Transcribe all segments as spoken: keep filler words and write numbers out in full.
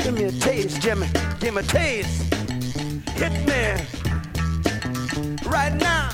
Give me a taste, Jimmy. Give me a taste. Hit me right now.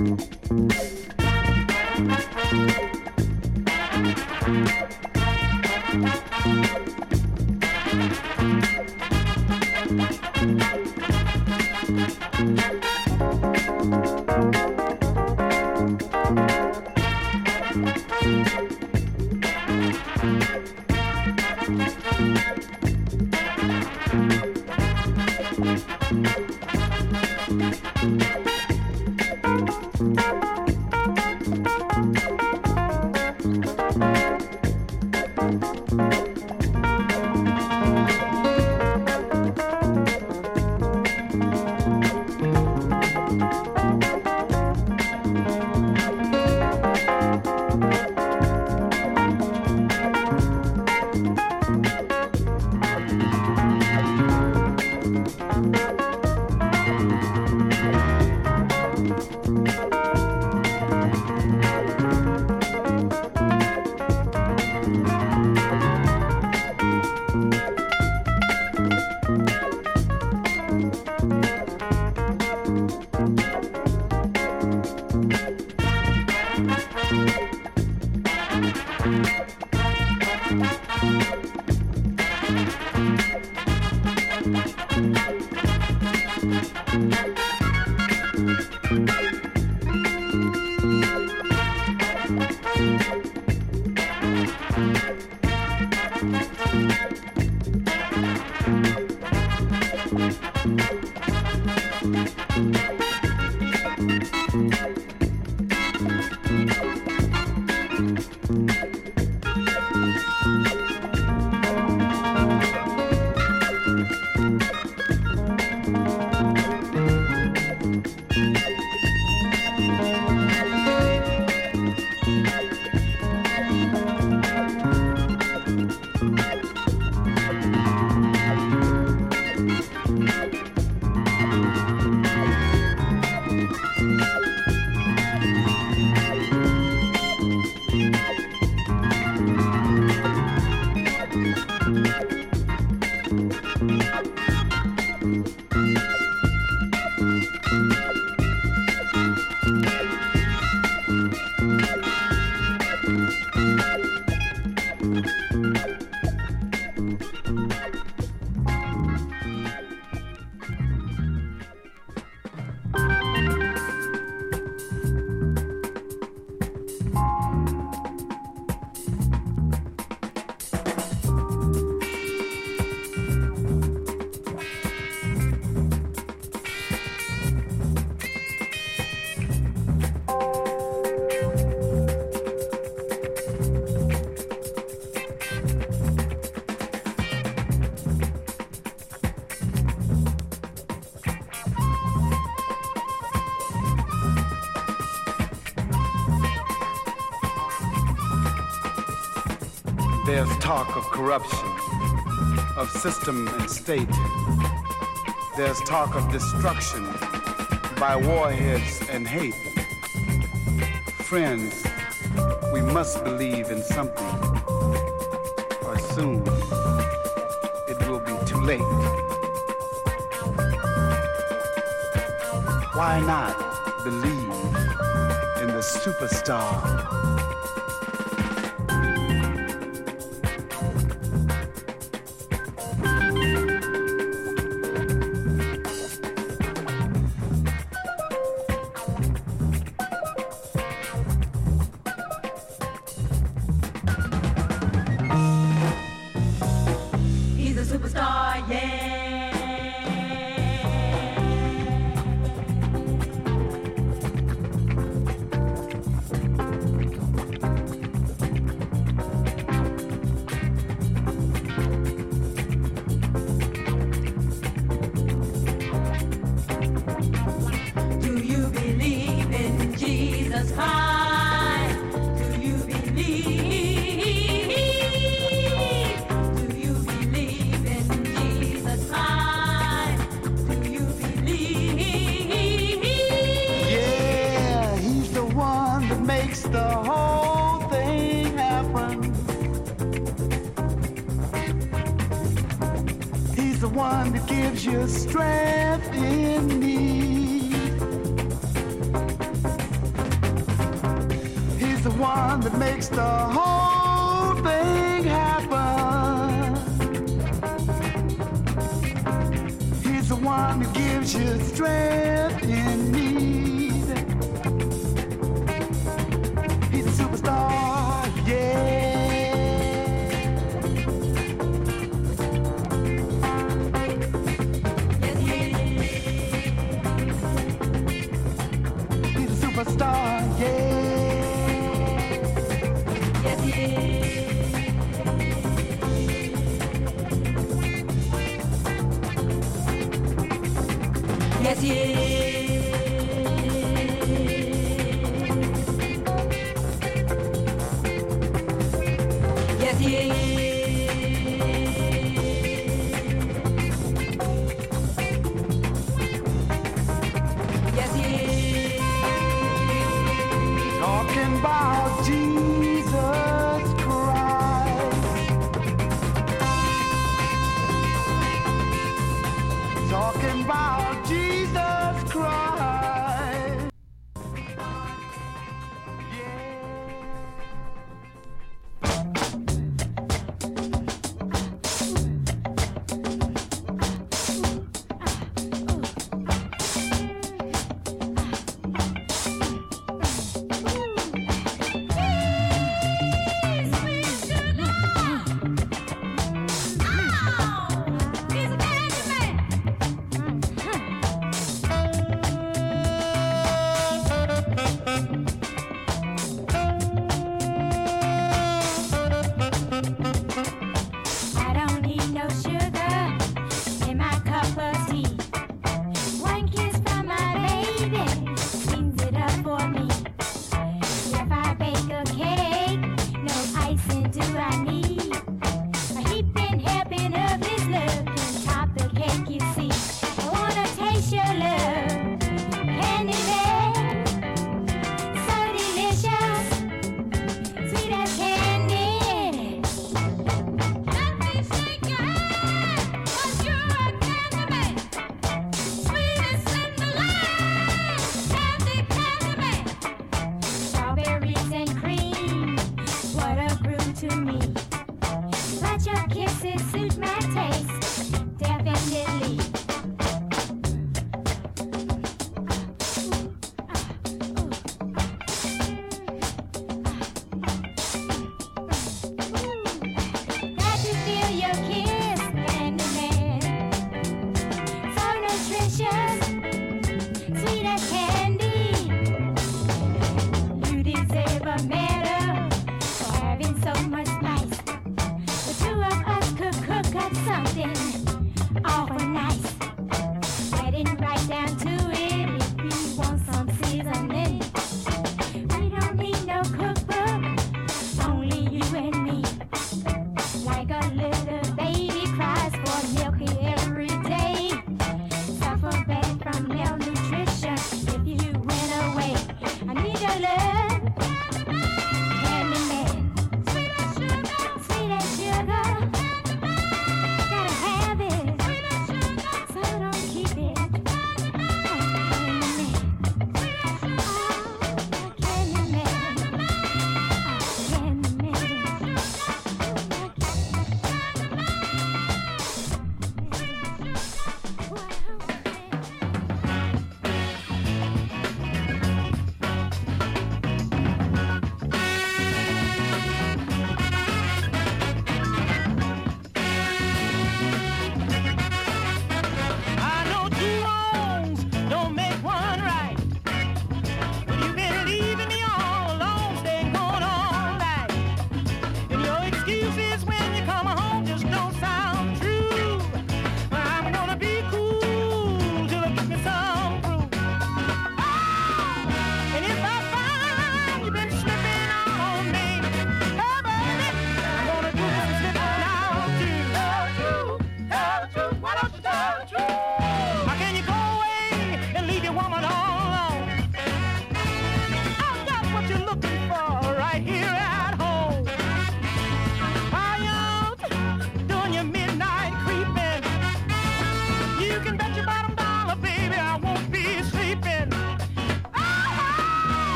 There's talk of corruption, of system and state. There's talk of destruction by warheads and hate. Friends, we must believe in something, or soon it will be too late. Why not believe in the superstar? one that makes the whole thing happen. He's the one who gives you strength in need. He's a superstar, yeah. Star, yeah. Yes, he is. Yes, he is. Yes, he is. Yes, he is. Talking about Jesus Christ. Talking about Jesus Christ.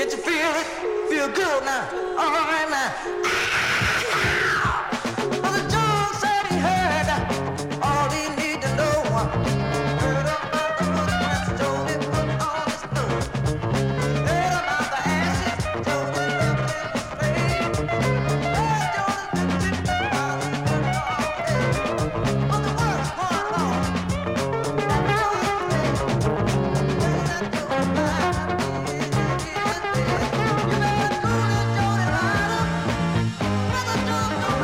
Can't you feel it? Feel good now. All right now. Brother John said he heard all he need to know. Heard about the footprints, told him put on his clothes. Heard about the ashes, told him left in the grave. Heard Jonas been sitting while he worked all day. But the work's going on. That Jonas made. Well, that Jonas died. He is dead. You better cool it, Johnny Ryder. Brother John.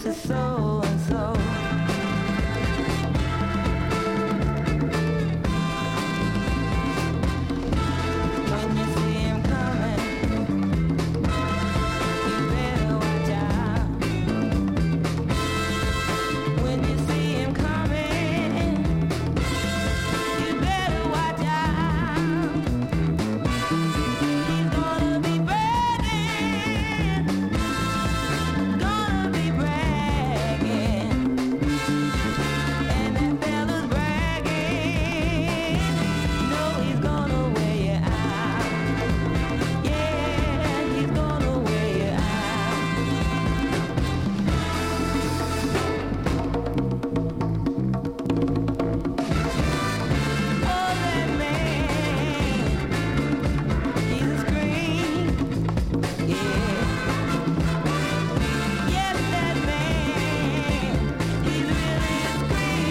is so and so. When you see him coming, you better watch out. When you see him coming, you better watch out. He's gonna be bragging, gonna be bragging, and that fella's bragging. No, he's gonna wear you out. Yeah, he's gonna wear you out. Oh, that man, he's a scream. Yeah. Yes, that man, he's really a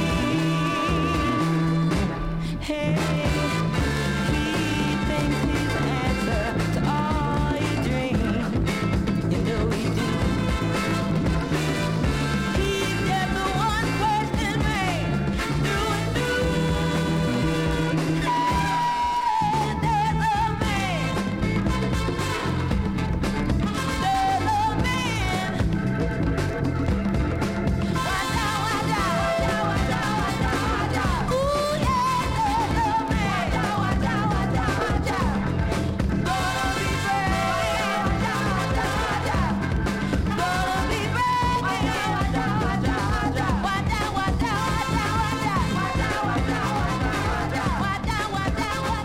scream. Hey, he thinks he's the answer to all your dreams. You know he do. He's just a one-person man, through and through. There's a man, there's a man. Watch out, watch out, watch out, watch out, watch out. Ooh, yeah, there's a man. Watch out, watch out, watch out, watch out. Gonna be brave. Watch out, watch out, watch out. Gonna be brave. Watch out, watch out, watch out, watch out. Watch out, watch out, watch out, watch out. Watch out, watch out, watch out, watch out. Watch out, watch out, watch out, watch out. Watch out, watch out, watch out, watch out.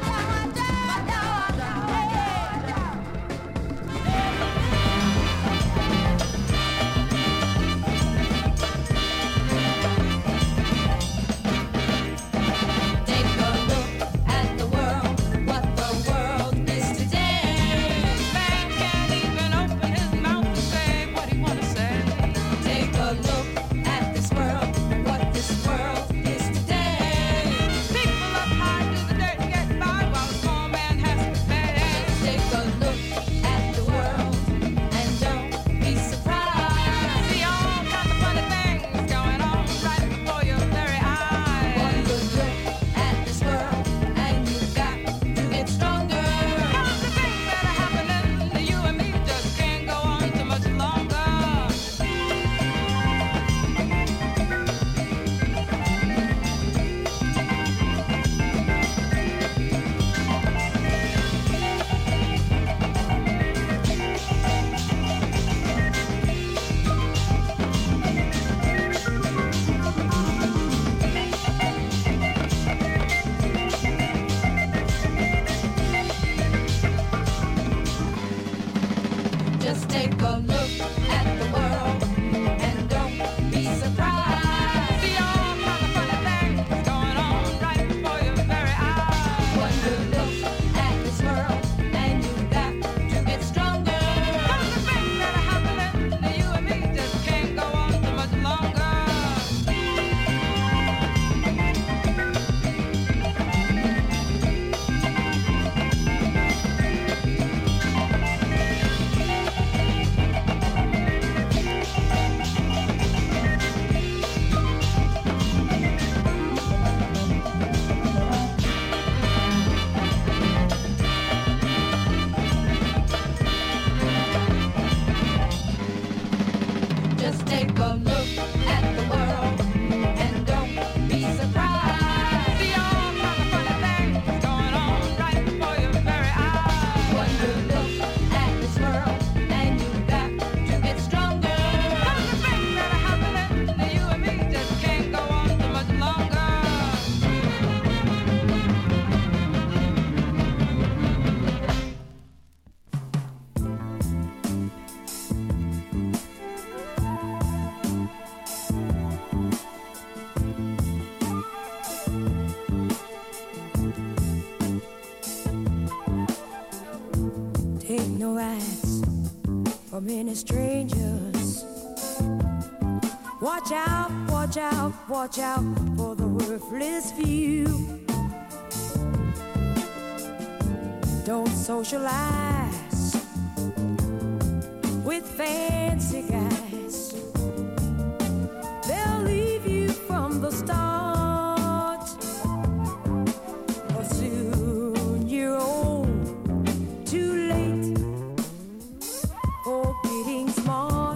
Take a look at the world, what the world is today. Man can't even open his mouth to say what he wanna say. Take a look at this world, what this world is today. People up high do the dirt and get by while the small man has to pay. Take a look at the world and don't be surprised. See all kinds of funny things going on right before your very eyes. One good look at this world and you've got to get stronger. Cause the things that are happening to you and me just can't go on too much longer. Just take a look at the world and don't be surprised. See all kinds of funny things going on right before your very eyes. One good look at this world and you've got to get stronger. Cause the things that are happening to you and me just can't go on too much longer. Just take a look at the world and don't be surprised. See all kinds of funny things going on right before your very eyes. One good look at this world and you've got to get stronger. Cause the things that are happening to you and me just can't go on too much longer. Take no rights from any strangers. Watch out, watch out, watch out for the worthless few. Don't socialize with fancy guys. for getting smart.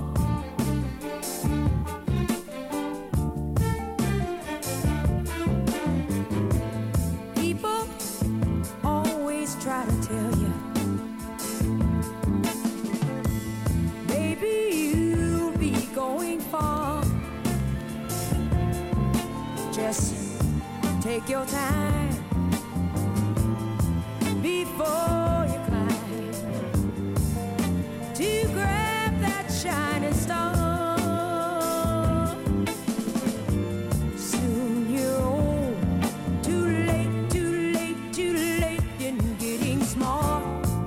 People always try to tell you, baby, you'll be going far. Just take your time before you climb to grab that shining star. Soon you're old, too late, too late, too late in getting smart.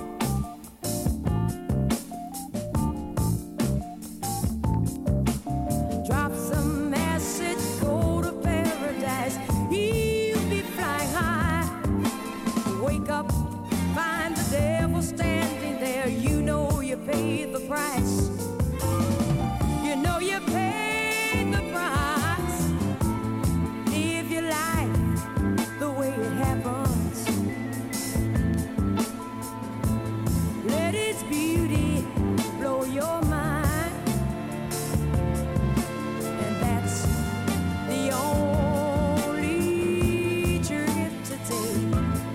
Drop some acid, go to paradise. You'll be flying high. Wake up, find the devil standing there. You know you paid the price. You know you paid the price. Live your life the way it happens. Let its beauty blow your mind. And that's the only trip to take.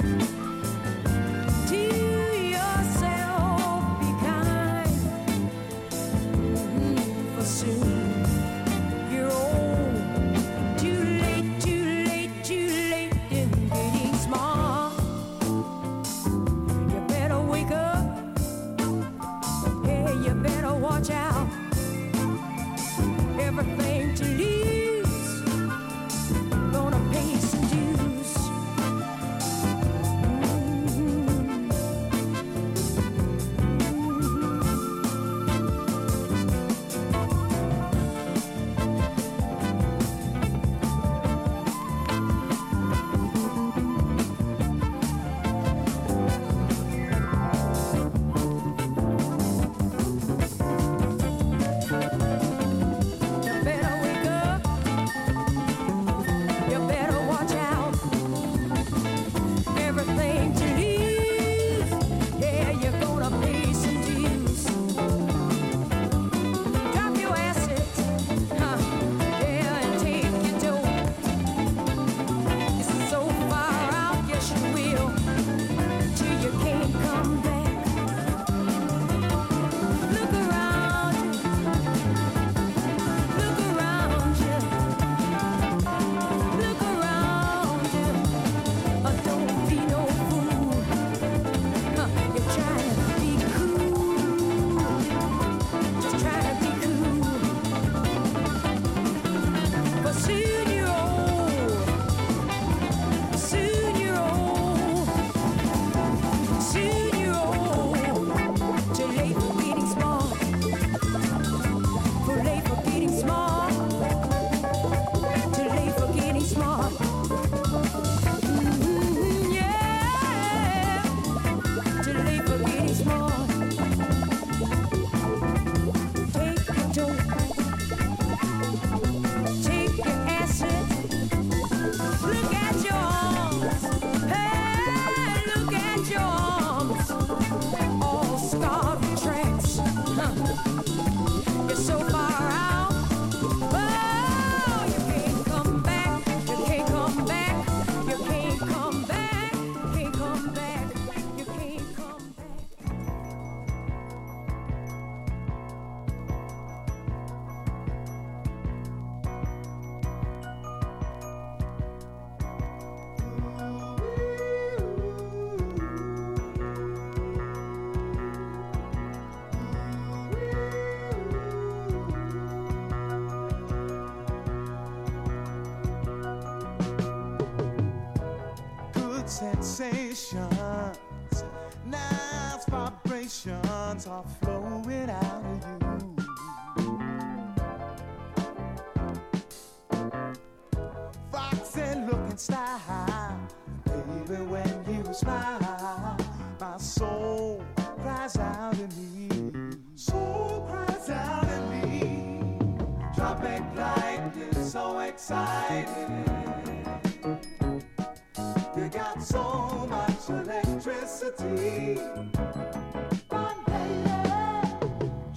To yourself, be kind. Mhm, for soon you're old. Too late, too late, too late in getting smart. You better wake up. Yeah, you better watch out. Everything to lose, gonna pay some dues. You better wake up. You better watch out. Everything to lose. Yeah, you're gonna pay some dues. Drop your assets, huh? Yeah, and take your dough. It's so far out, yes you will, till you can't come back. Look around you. Look around you. Look around you. Oh, don't be no fool. Huh, you're trying to be cool. Just trying to be cool. But soon you're old. Soon you're old. Soon you're old. Too late for getting smart. Too late for getting smart. Too late for getting smart. Mhm, yeah. Too late for getting smart. Take your dope. Take your acid. Look at your arms. Hey, look at your arms. All scarred with tracks. Huh. You're so far out. Oh, you can't come back. You can't come back. You can't come back. Can't come back. You can't come back. Good sensations, nice vibrations are flowing out of you. Foxy looking style, baby, when you smile, my soul cries out in me. Soul cries out in me. Tropic lightning, so exciting. You got so much electricity. Fun, baby.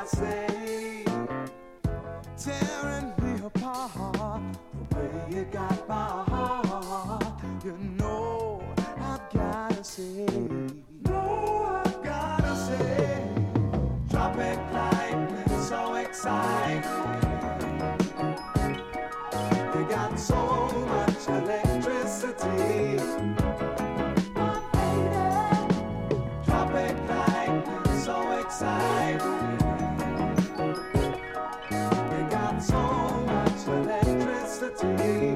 say, tearing me apart, the way you got my heart, you know I've gotta say, no, I've gotta say, tropic lightning, so exciting, you got so much electricity, my baby, tropic lightning, so exciting. So much electricity.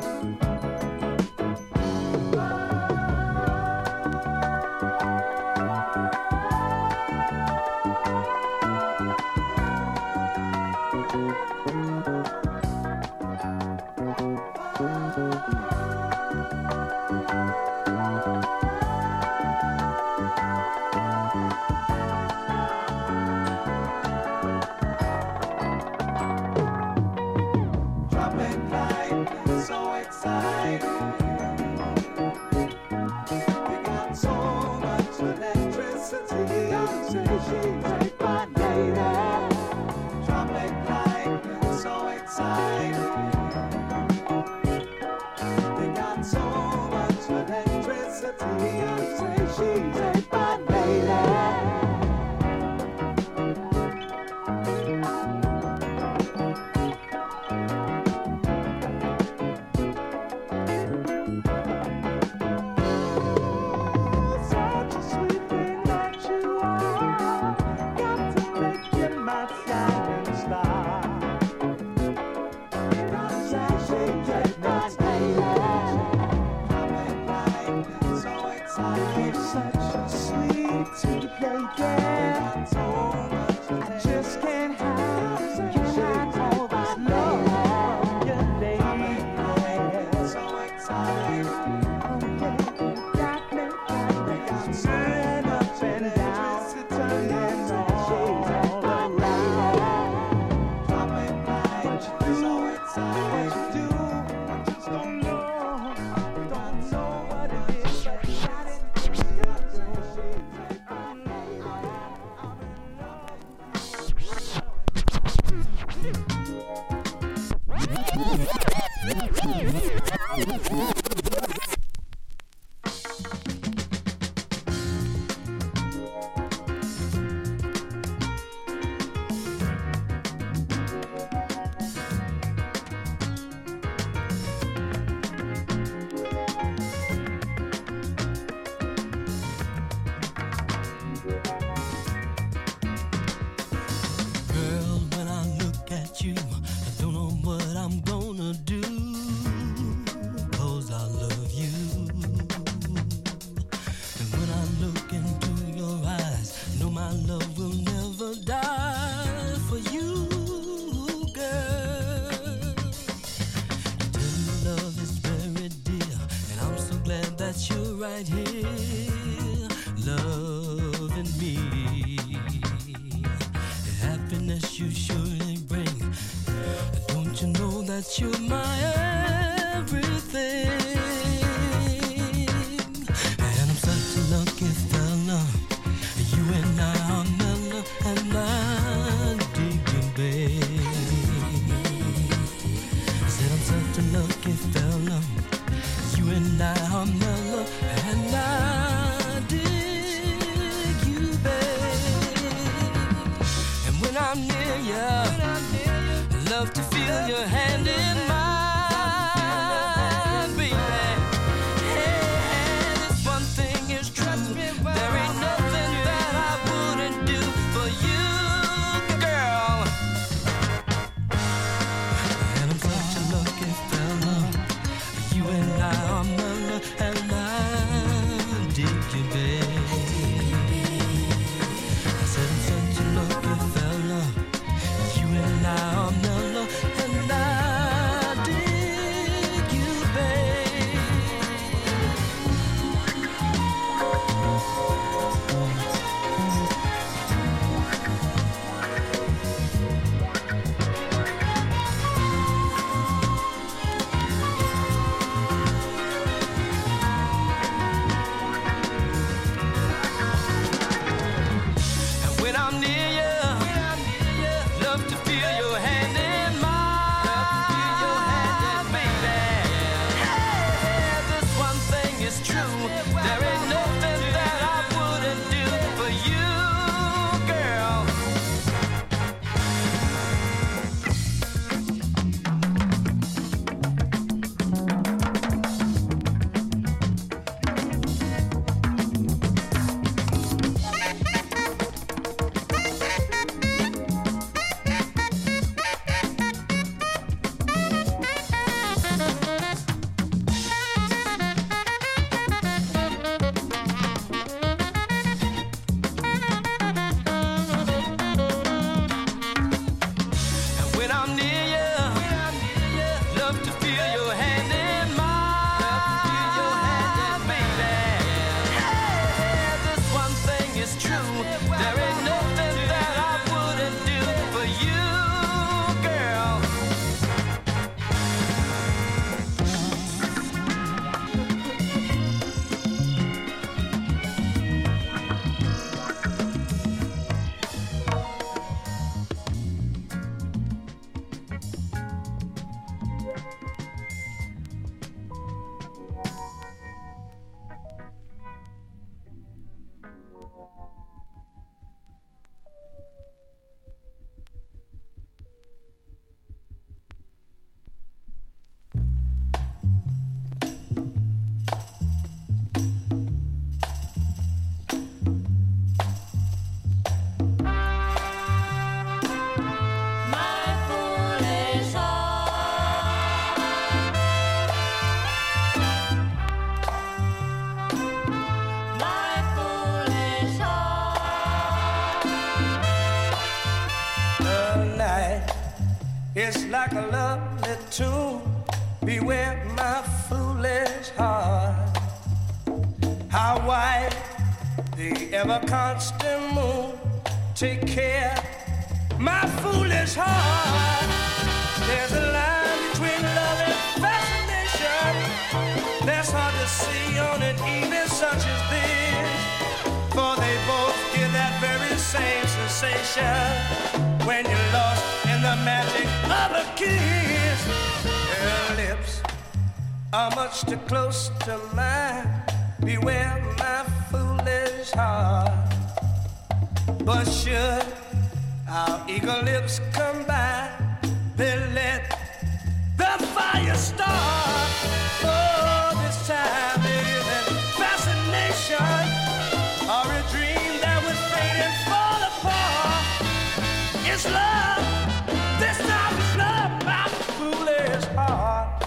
It's like a lovely tune. Beware my foolish heart. How white the ever constant moon. Take care, my foolish heart. There's a line between love and fascination that's hard to see on an evening such as this. For they both give that very same sensation when you're lost in the magic of a kiss. Her lips are much too close to mine. Beware my foolish heart. But should our eager lips combine, then let the fire start. Oh, this time it isn't fascination or a dream that would fade and fall apart. It's love, this time it's love, my foolish heart.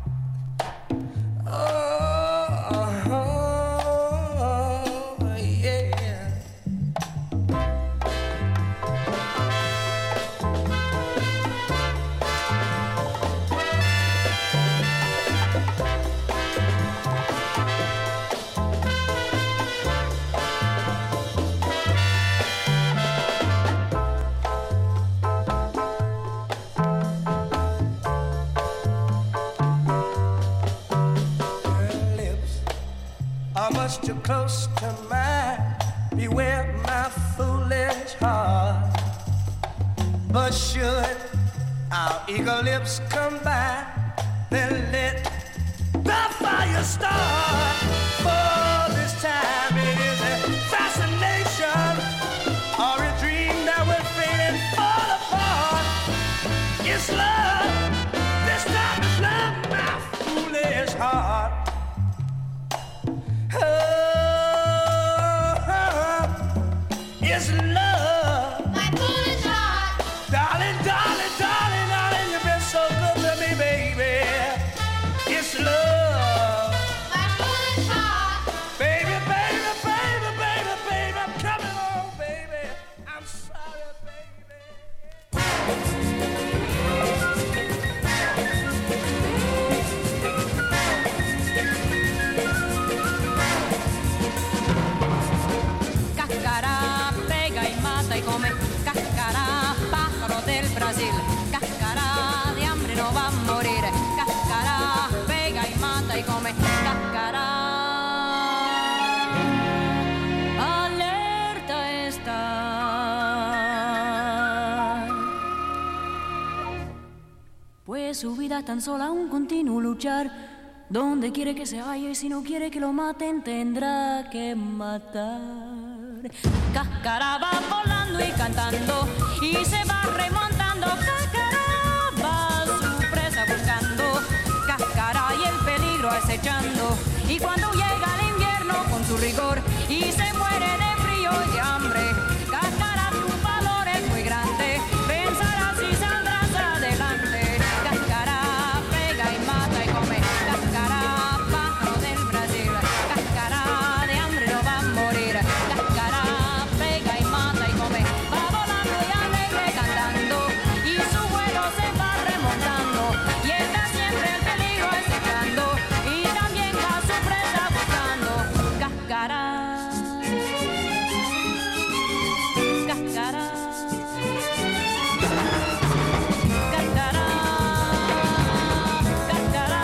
Oh, oh, yeah. Much too close to mine. Beware my foolish heart. But should our eager lips combine, then let the fire start. For this time it is a fascination or a dream that will fade and fall apart. It's love, this time it's love, my foolish heart. Oh, it's love, my foolish heart. Darling, darling, darling, darling, you've been so good to me, baby. It's love, my foolish heart. Baby, baby, baby, baby, baby, I'm coming home, baby. I'm sorry, Cáscara, pega y mata y come. Cáscara, pájaro del Brasil. Cáscara, de hambre no va a morir. Cáscara, pega y mata y come. Cáscara, alerta está. Pues su vida es tan sola un continuo luchar. Donde quiere que se vaya y si no quiere que lo maten tendrá que matar. Cáscara va volando y cantando y se va remontando. Cáscara va a su presa buscando. Cáscara y el peligro acechando. Y cuando llega el invierno con su rigor y se muere de frío y de hambre, Cáscara su valor es muy grande. Pensarás y saldrás adelante. Cáscara pega y mata y come. Cáscara, pájaro del Brasil. Cáscara, de hambre no va a morir. Cáscara, pega y mata y come. Va volando y alegre cantando y su vuelo se va remontando. Y está siempre el peligro acechando y también va su presa buscando. Cáscara, cáscara, cáscara, cáscara,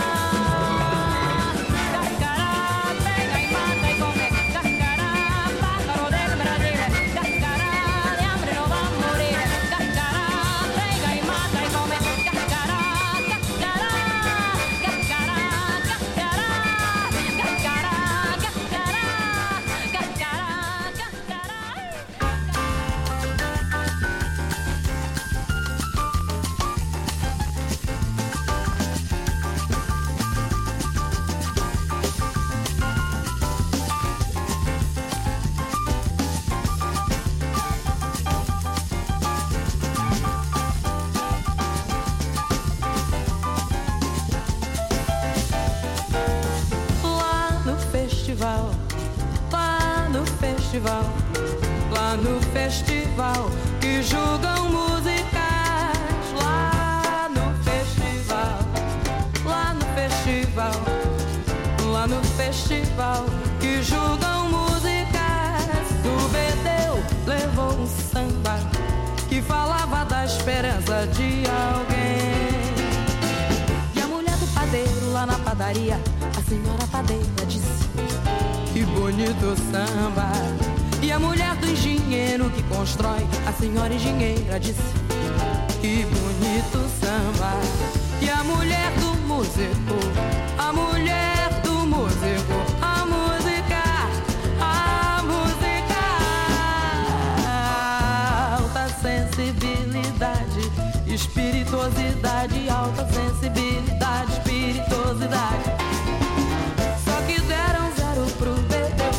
cáscara, pega y mata y come. Cáscara, pájaro del Brasil. Cáscara, de hambre no va a morir. Cáscara, pega y mata y come. Cáscara, cáscara, cáscara, cáscara, cáscara, cáscara, cáscara, Lá no festival, lá no festival, lá no festival que julgam músicas. Lá festival que julgam músicas. O Bedeu levou um samba que falava da esperança de alguém. E a mulher do padeiro lá na padaria, a senhora padeira disse: que bonito samba. E a mulher do engenheiro que constrói, a senhora engenheira disse: que bonito samba. E a mulher do músico, a mulher do músico, a música, a música. Alta sensibilidade, espirituosidade, alta sensibilidade, espirituosidade. Só que deram zero pro bebê.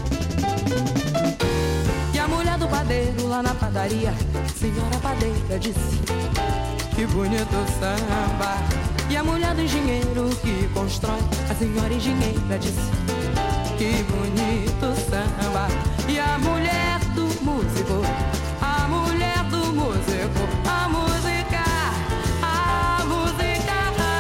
E a mulher do padeiro lá na padaria, senhora padeira disse: que bonito samba. E a mulher do engenheiro que constrói, a senhora engenheira disse: que bonito samba. E a mulher do músico, a mulher do músico, a música, a música.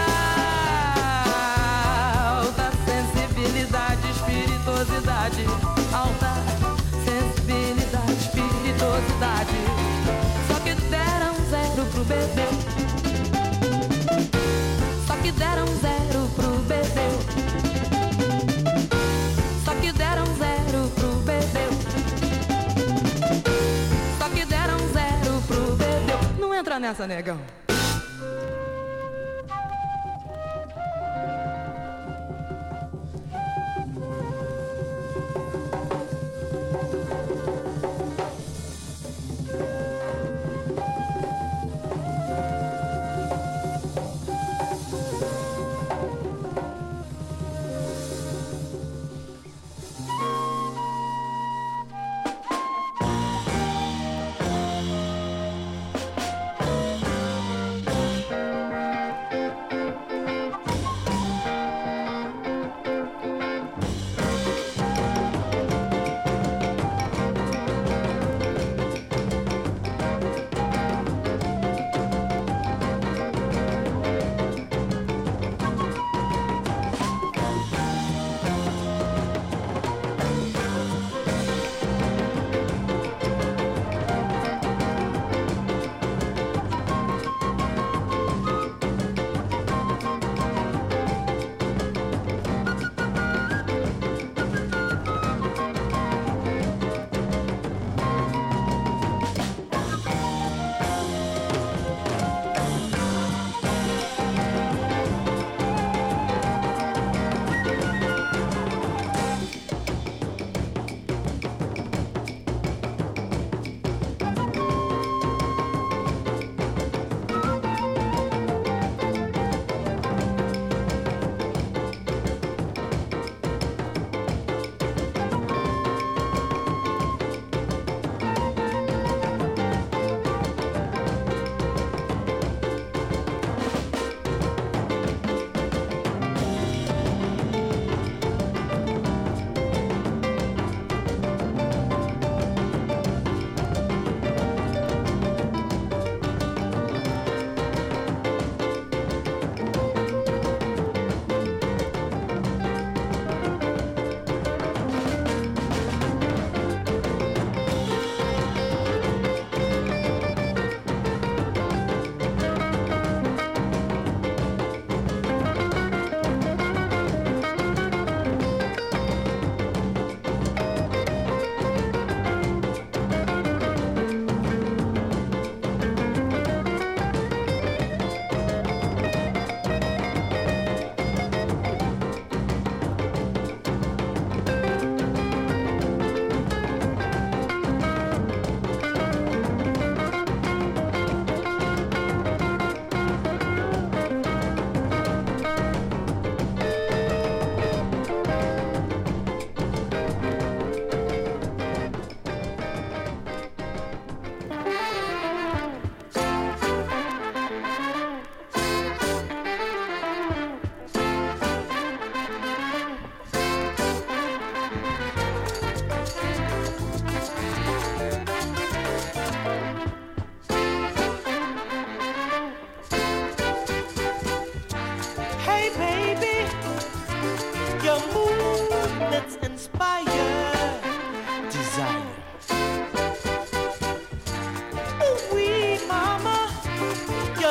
Alta sensibilidade, espirituosidade, alta sensibilidade, espirituosidade. Só que deram zero pro bebê. Só que deram zero pro bebê. Só que deram zero pro bebê. Só que deram zero pro bebê. Não entra nessa, negão.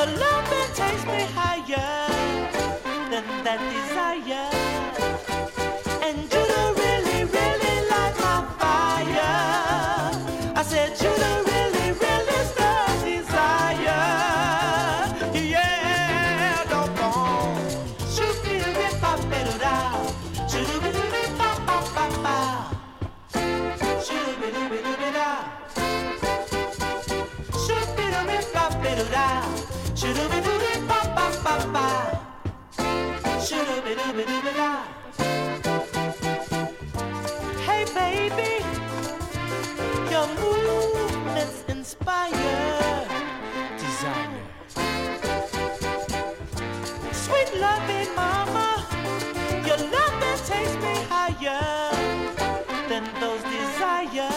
Your loving takes me higher than that desire. And you don't really, really light my fire. I said you don't really, really stir desire. Yeah, don't go. Shoot me the rip up, better down. Shoot me the rip up, up, up, up. Shoot me the rip up, down. Shoot me the rip up, better down. Shoot me the rip up, up, up, up. Shoot me the rip up, down. Hey baby, your movements inspire desire. Sweet loving mama, your loving takes me higher than those desires.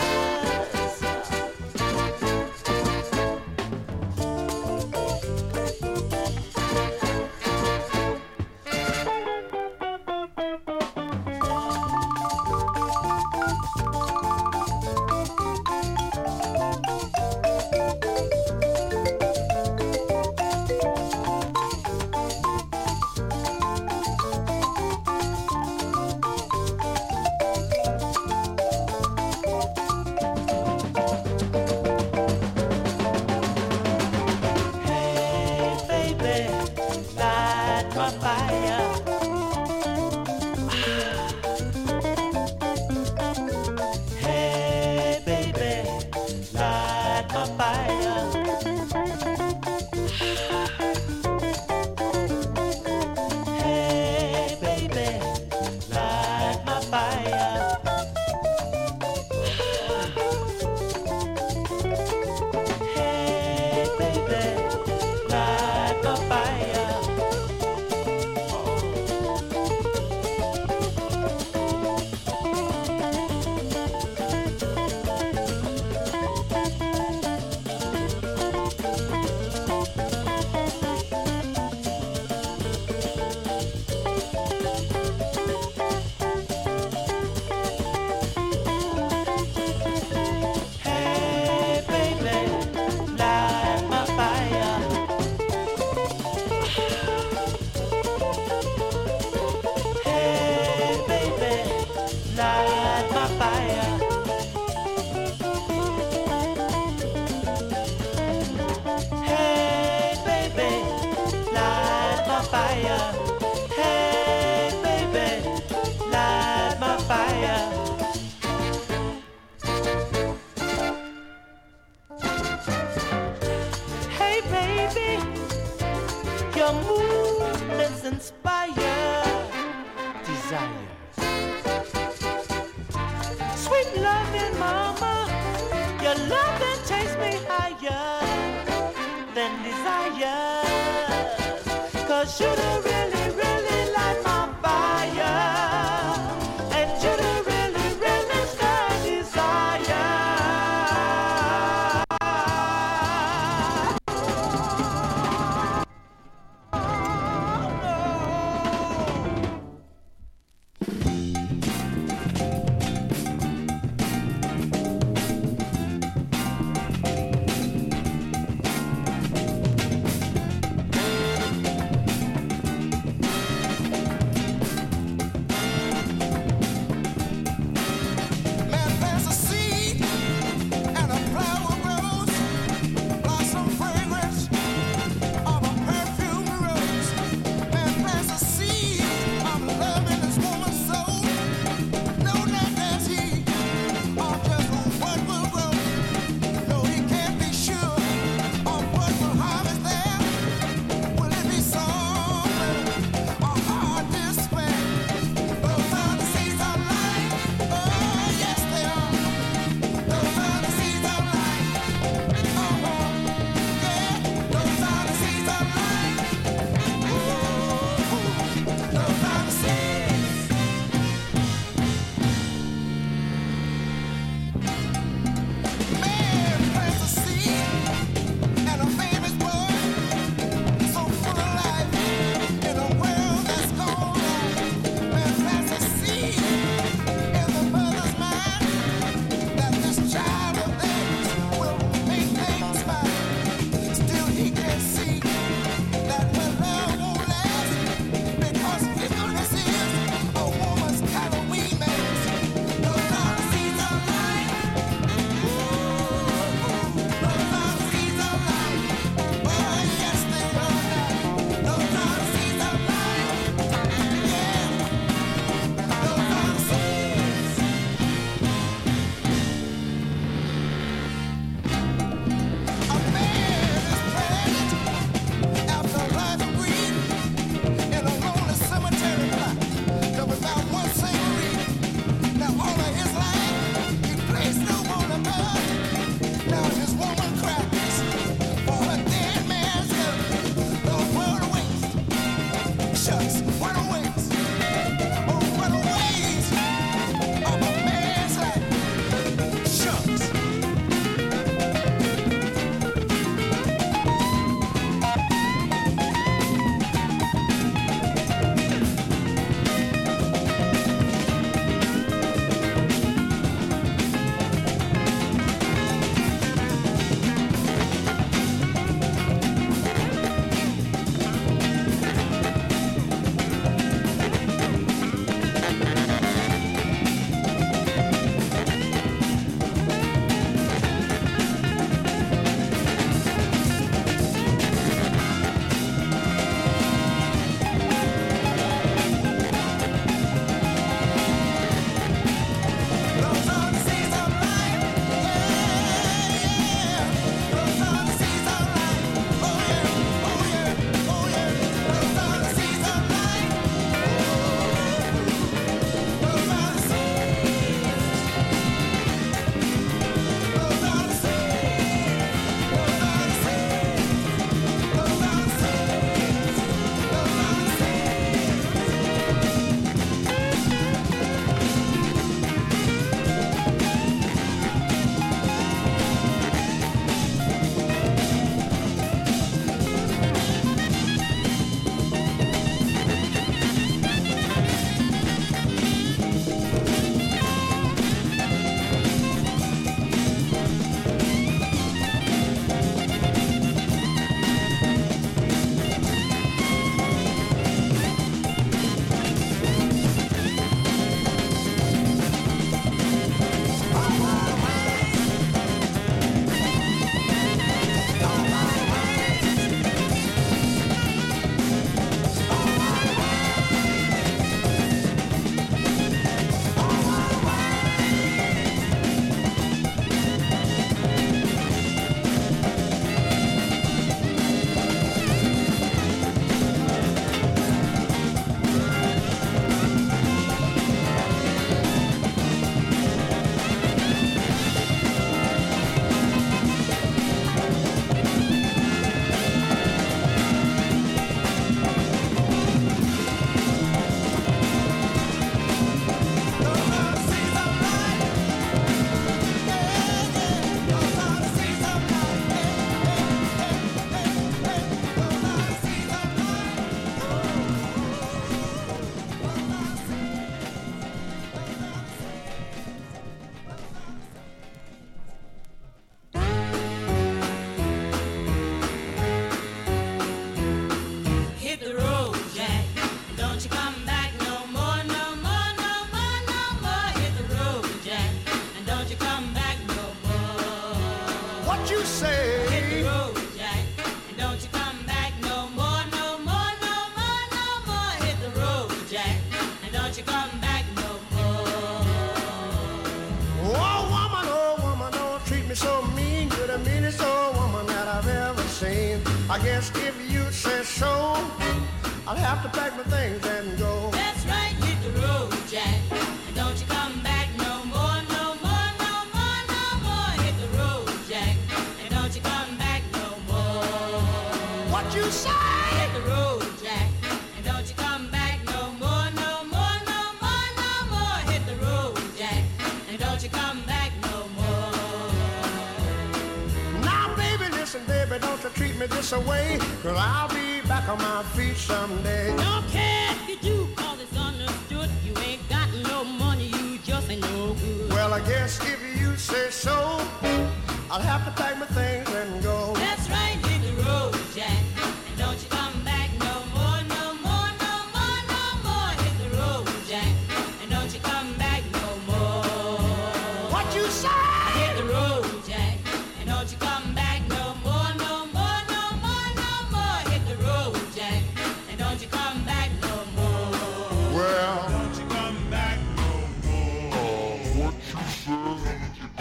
Hit the road, Jack, and don't you come back no more, no more, no more, no more. Hit the road, Jack, and don't you come back no more. Oh, woman, oh, woman, don't treat me so mean. You're the meanest old woman that I've ever seen. I guess if you say so, I'll have to pack my things and go. That's right, hit the road, Jack, and don't you come back no more, no more, no more, no more. Hit the road, Jack, and don't you come back no more. What you say? Hit the road, Jack, and don't you come back no more, no more, no more, no more. Hit the road, Jack, and don't you come back no more. Now, baby, listen, baby, don't you treat me this away, 'cause I'll be back on my feet someday. Don't care if you do, 'cause it's understood. You ain't got no money, you just ain't no good. Well, I guess if you say so, I'll have to pack my things and go. That's right, hit the road, Jack, and don't you come back no more, no more, no more, no more. Hit the road, Jack, and don't you come back no more. What you say? Hit the road, Jack, and don't you come back no more, no more, no more, no more. Hit the road, Jack, and don't you come back no more. Well, Don't you come back no more. What you say?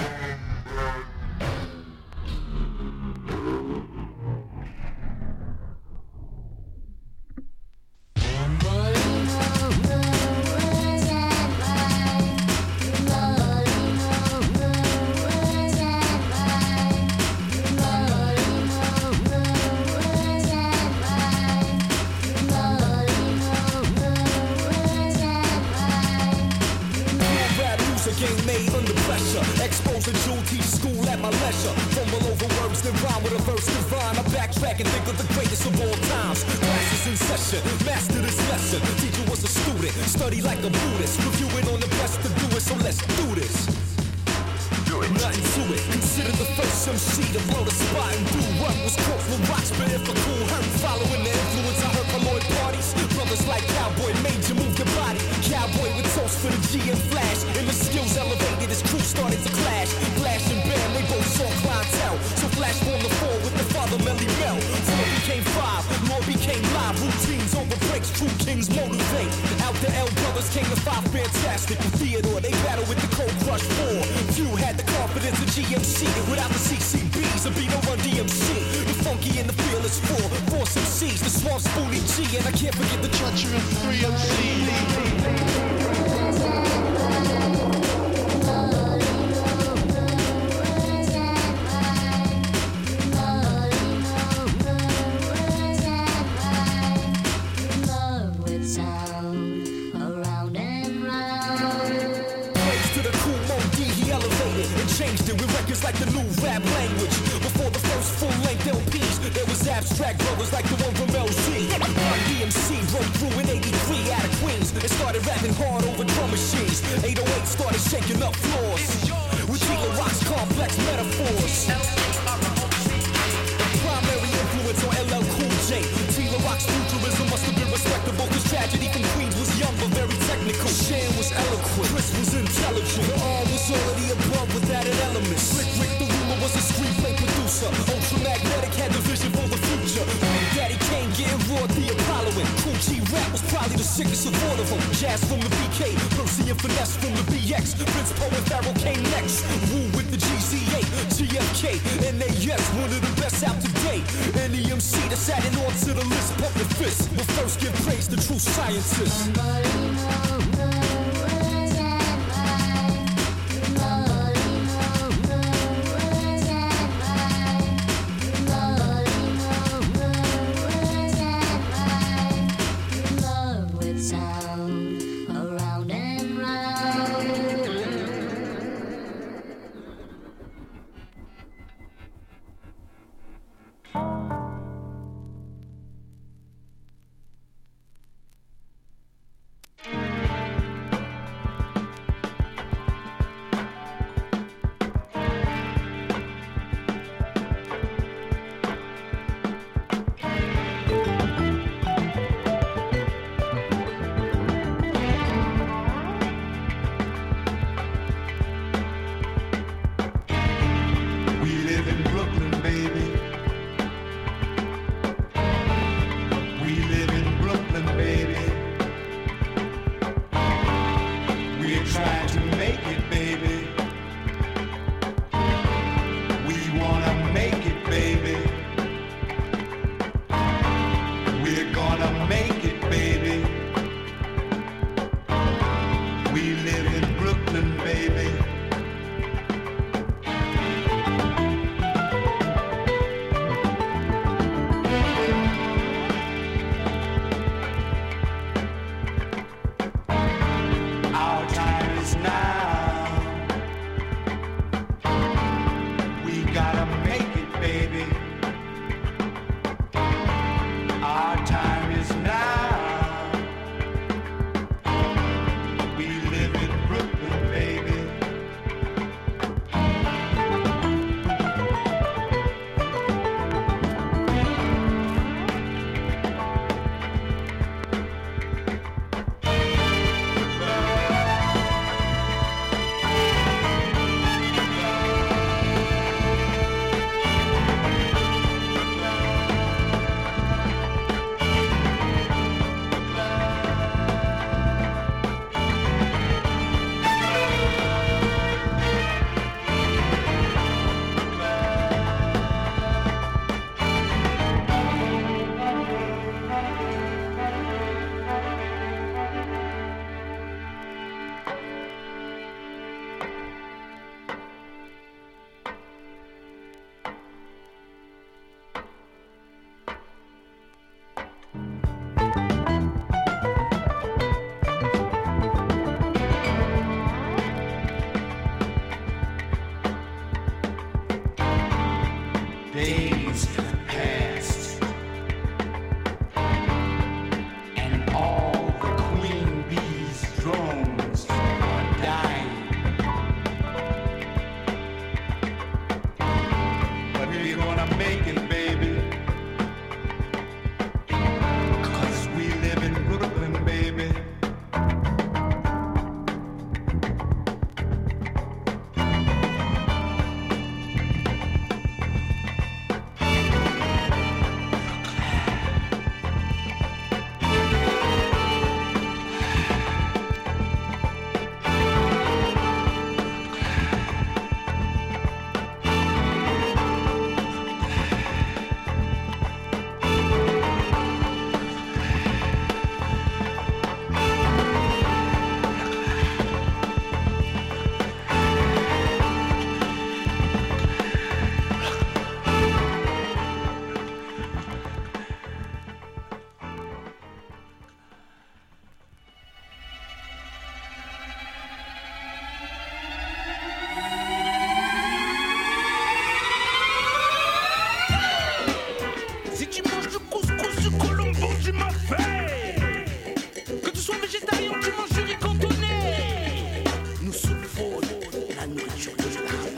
Rap music ain't made under pressure. Exposed to Jewel, teach school at my leisure. Fumble over words, then rhyme with a verse divine. I backtrack and think of the greatest of all times. Classes in session, master this lesson. Teacher was a student, study like a Buddhist. Reviewing on the best to do it, so let's do this. Nothing to it. Consider the first M C to blow the spot and do what was caught from rocks, but if a cool hurt. Following the influence I heard from Lloyd parties. Brothers like Cowboy made you move your body. Cowboy with toast for the G and Flash. And the skills elevated, his crew started to clash. Flash and Bam, they both saw clientele. So Flash formed the four with the father Melly Mel. Four became five, more became live. Routines over breaks, true kings motivate. Out the L brothers came the five fantastic. With Theodore, they battled with the Cold Crush four. Few had the confidence of G M C. Without the C C Bs, there'd be no Run D M C. The funky and the fearless four, Force M Cs, the Swamp Spoonie G, and I can't forget the treacherous three M C. Praise to the cool Mo D, he elevated and changed it with records like the new rap language. Before the first full-length L Ps, there was abstract brothers like the one from L Z. Run D M C broke through in eighty-three out of Queens and started rapping hard over drum machines. eight oh eight started shaking up floors with Tila Rock's complex metaphors. Primary influence on L L Cool J. Tila Rock's futurism must have been respectable, cause Tragedy from Queens was young but very technical. Shan was eloquent, Chris was intelligent. The arm was already above with added elements. Slick Rick the Ruler was a screenplay producer. Ultramagnetic had the vision for the future. Big Daddy Kane getting raw, the Apolloing. Cool G Rap was probably the sickest of all of them. Jazz from the B K, Percy and Finesse from the B X. Prince Poe and Pharaoh came next. Woo with the G Z A, G F K, N A S, one of the best out to date. N E M C that's adding on to the list, pump your fist. But first give praise to true scientists. days have passed, and all the queen bee's drones are dying. But we're gonna make it, baby, 'cause we live in Brooklyn, baby. Si tu manges du couscous, du colombo, tu m'as fait. Que tu sois végétarien ou tu manges du riz cantonais, nous souffrons la nourriture de l'âme.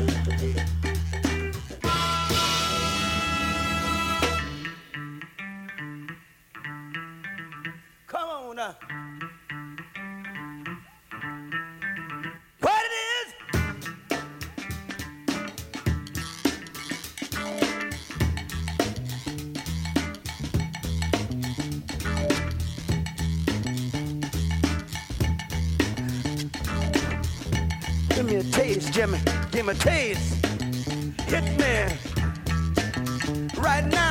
Come on now. What it is? Give me a taste, Jimmy. Give me a taste. Hit me. Right now.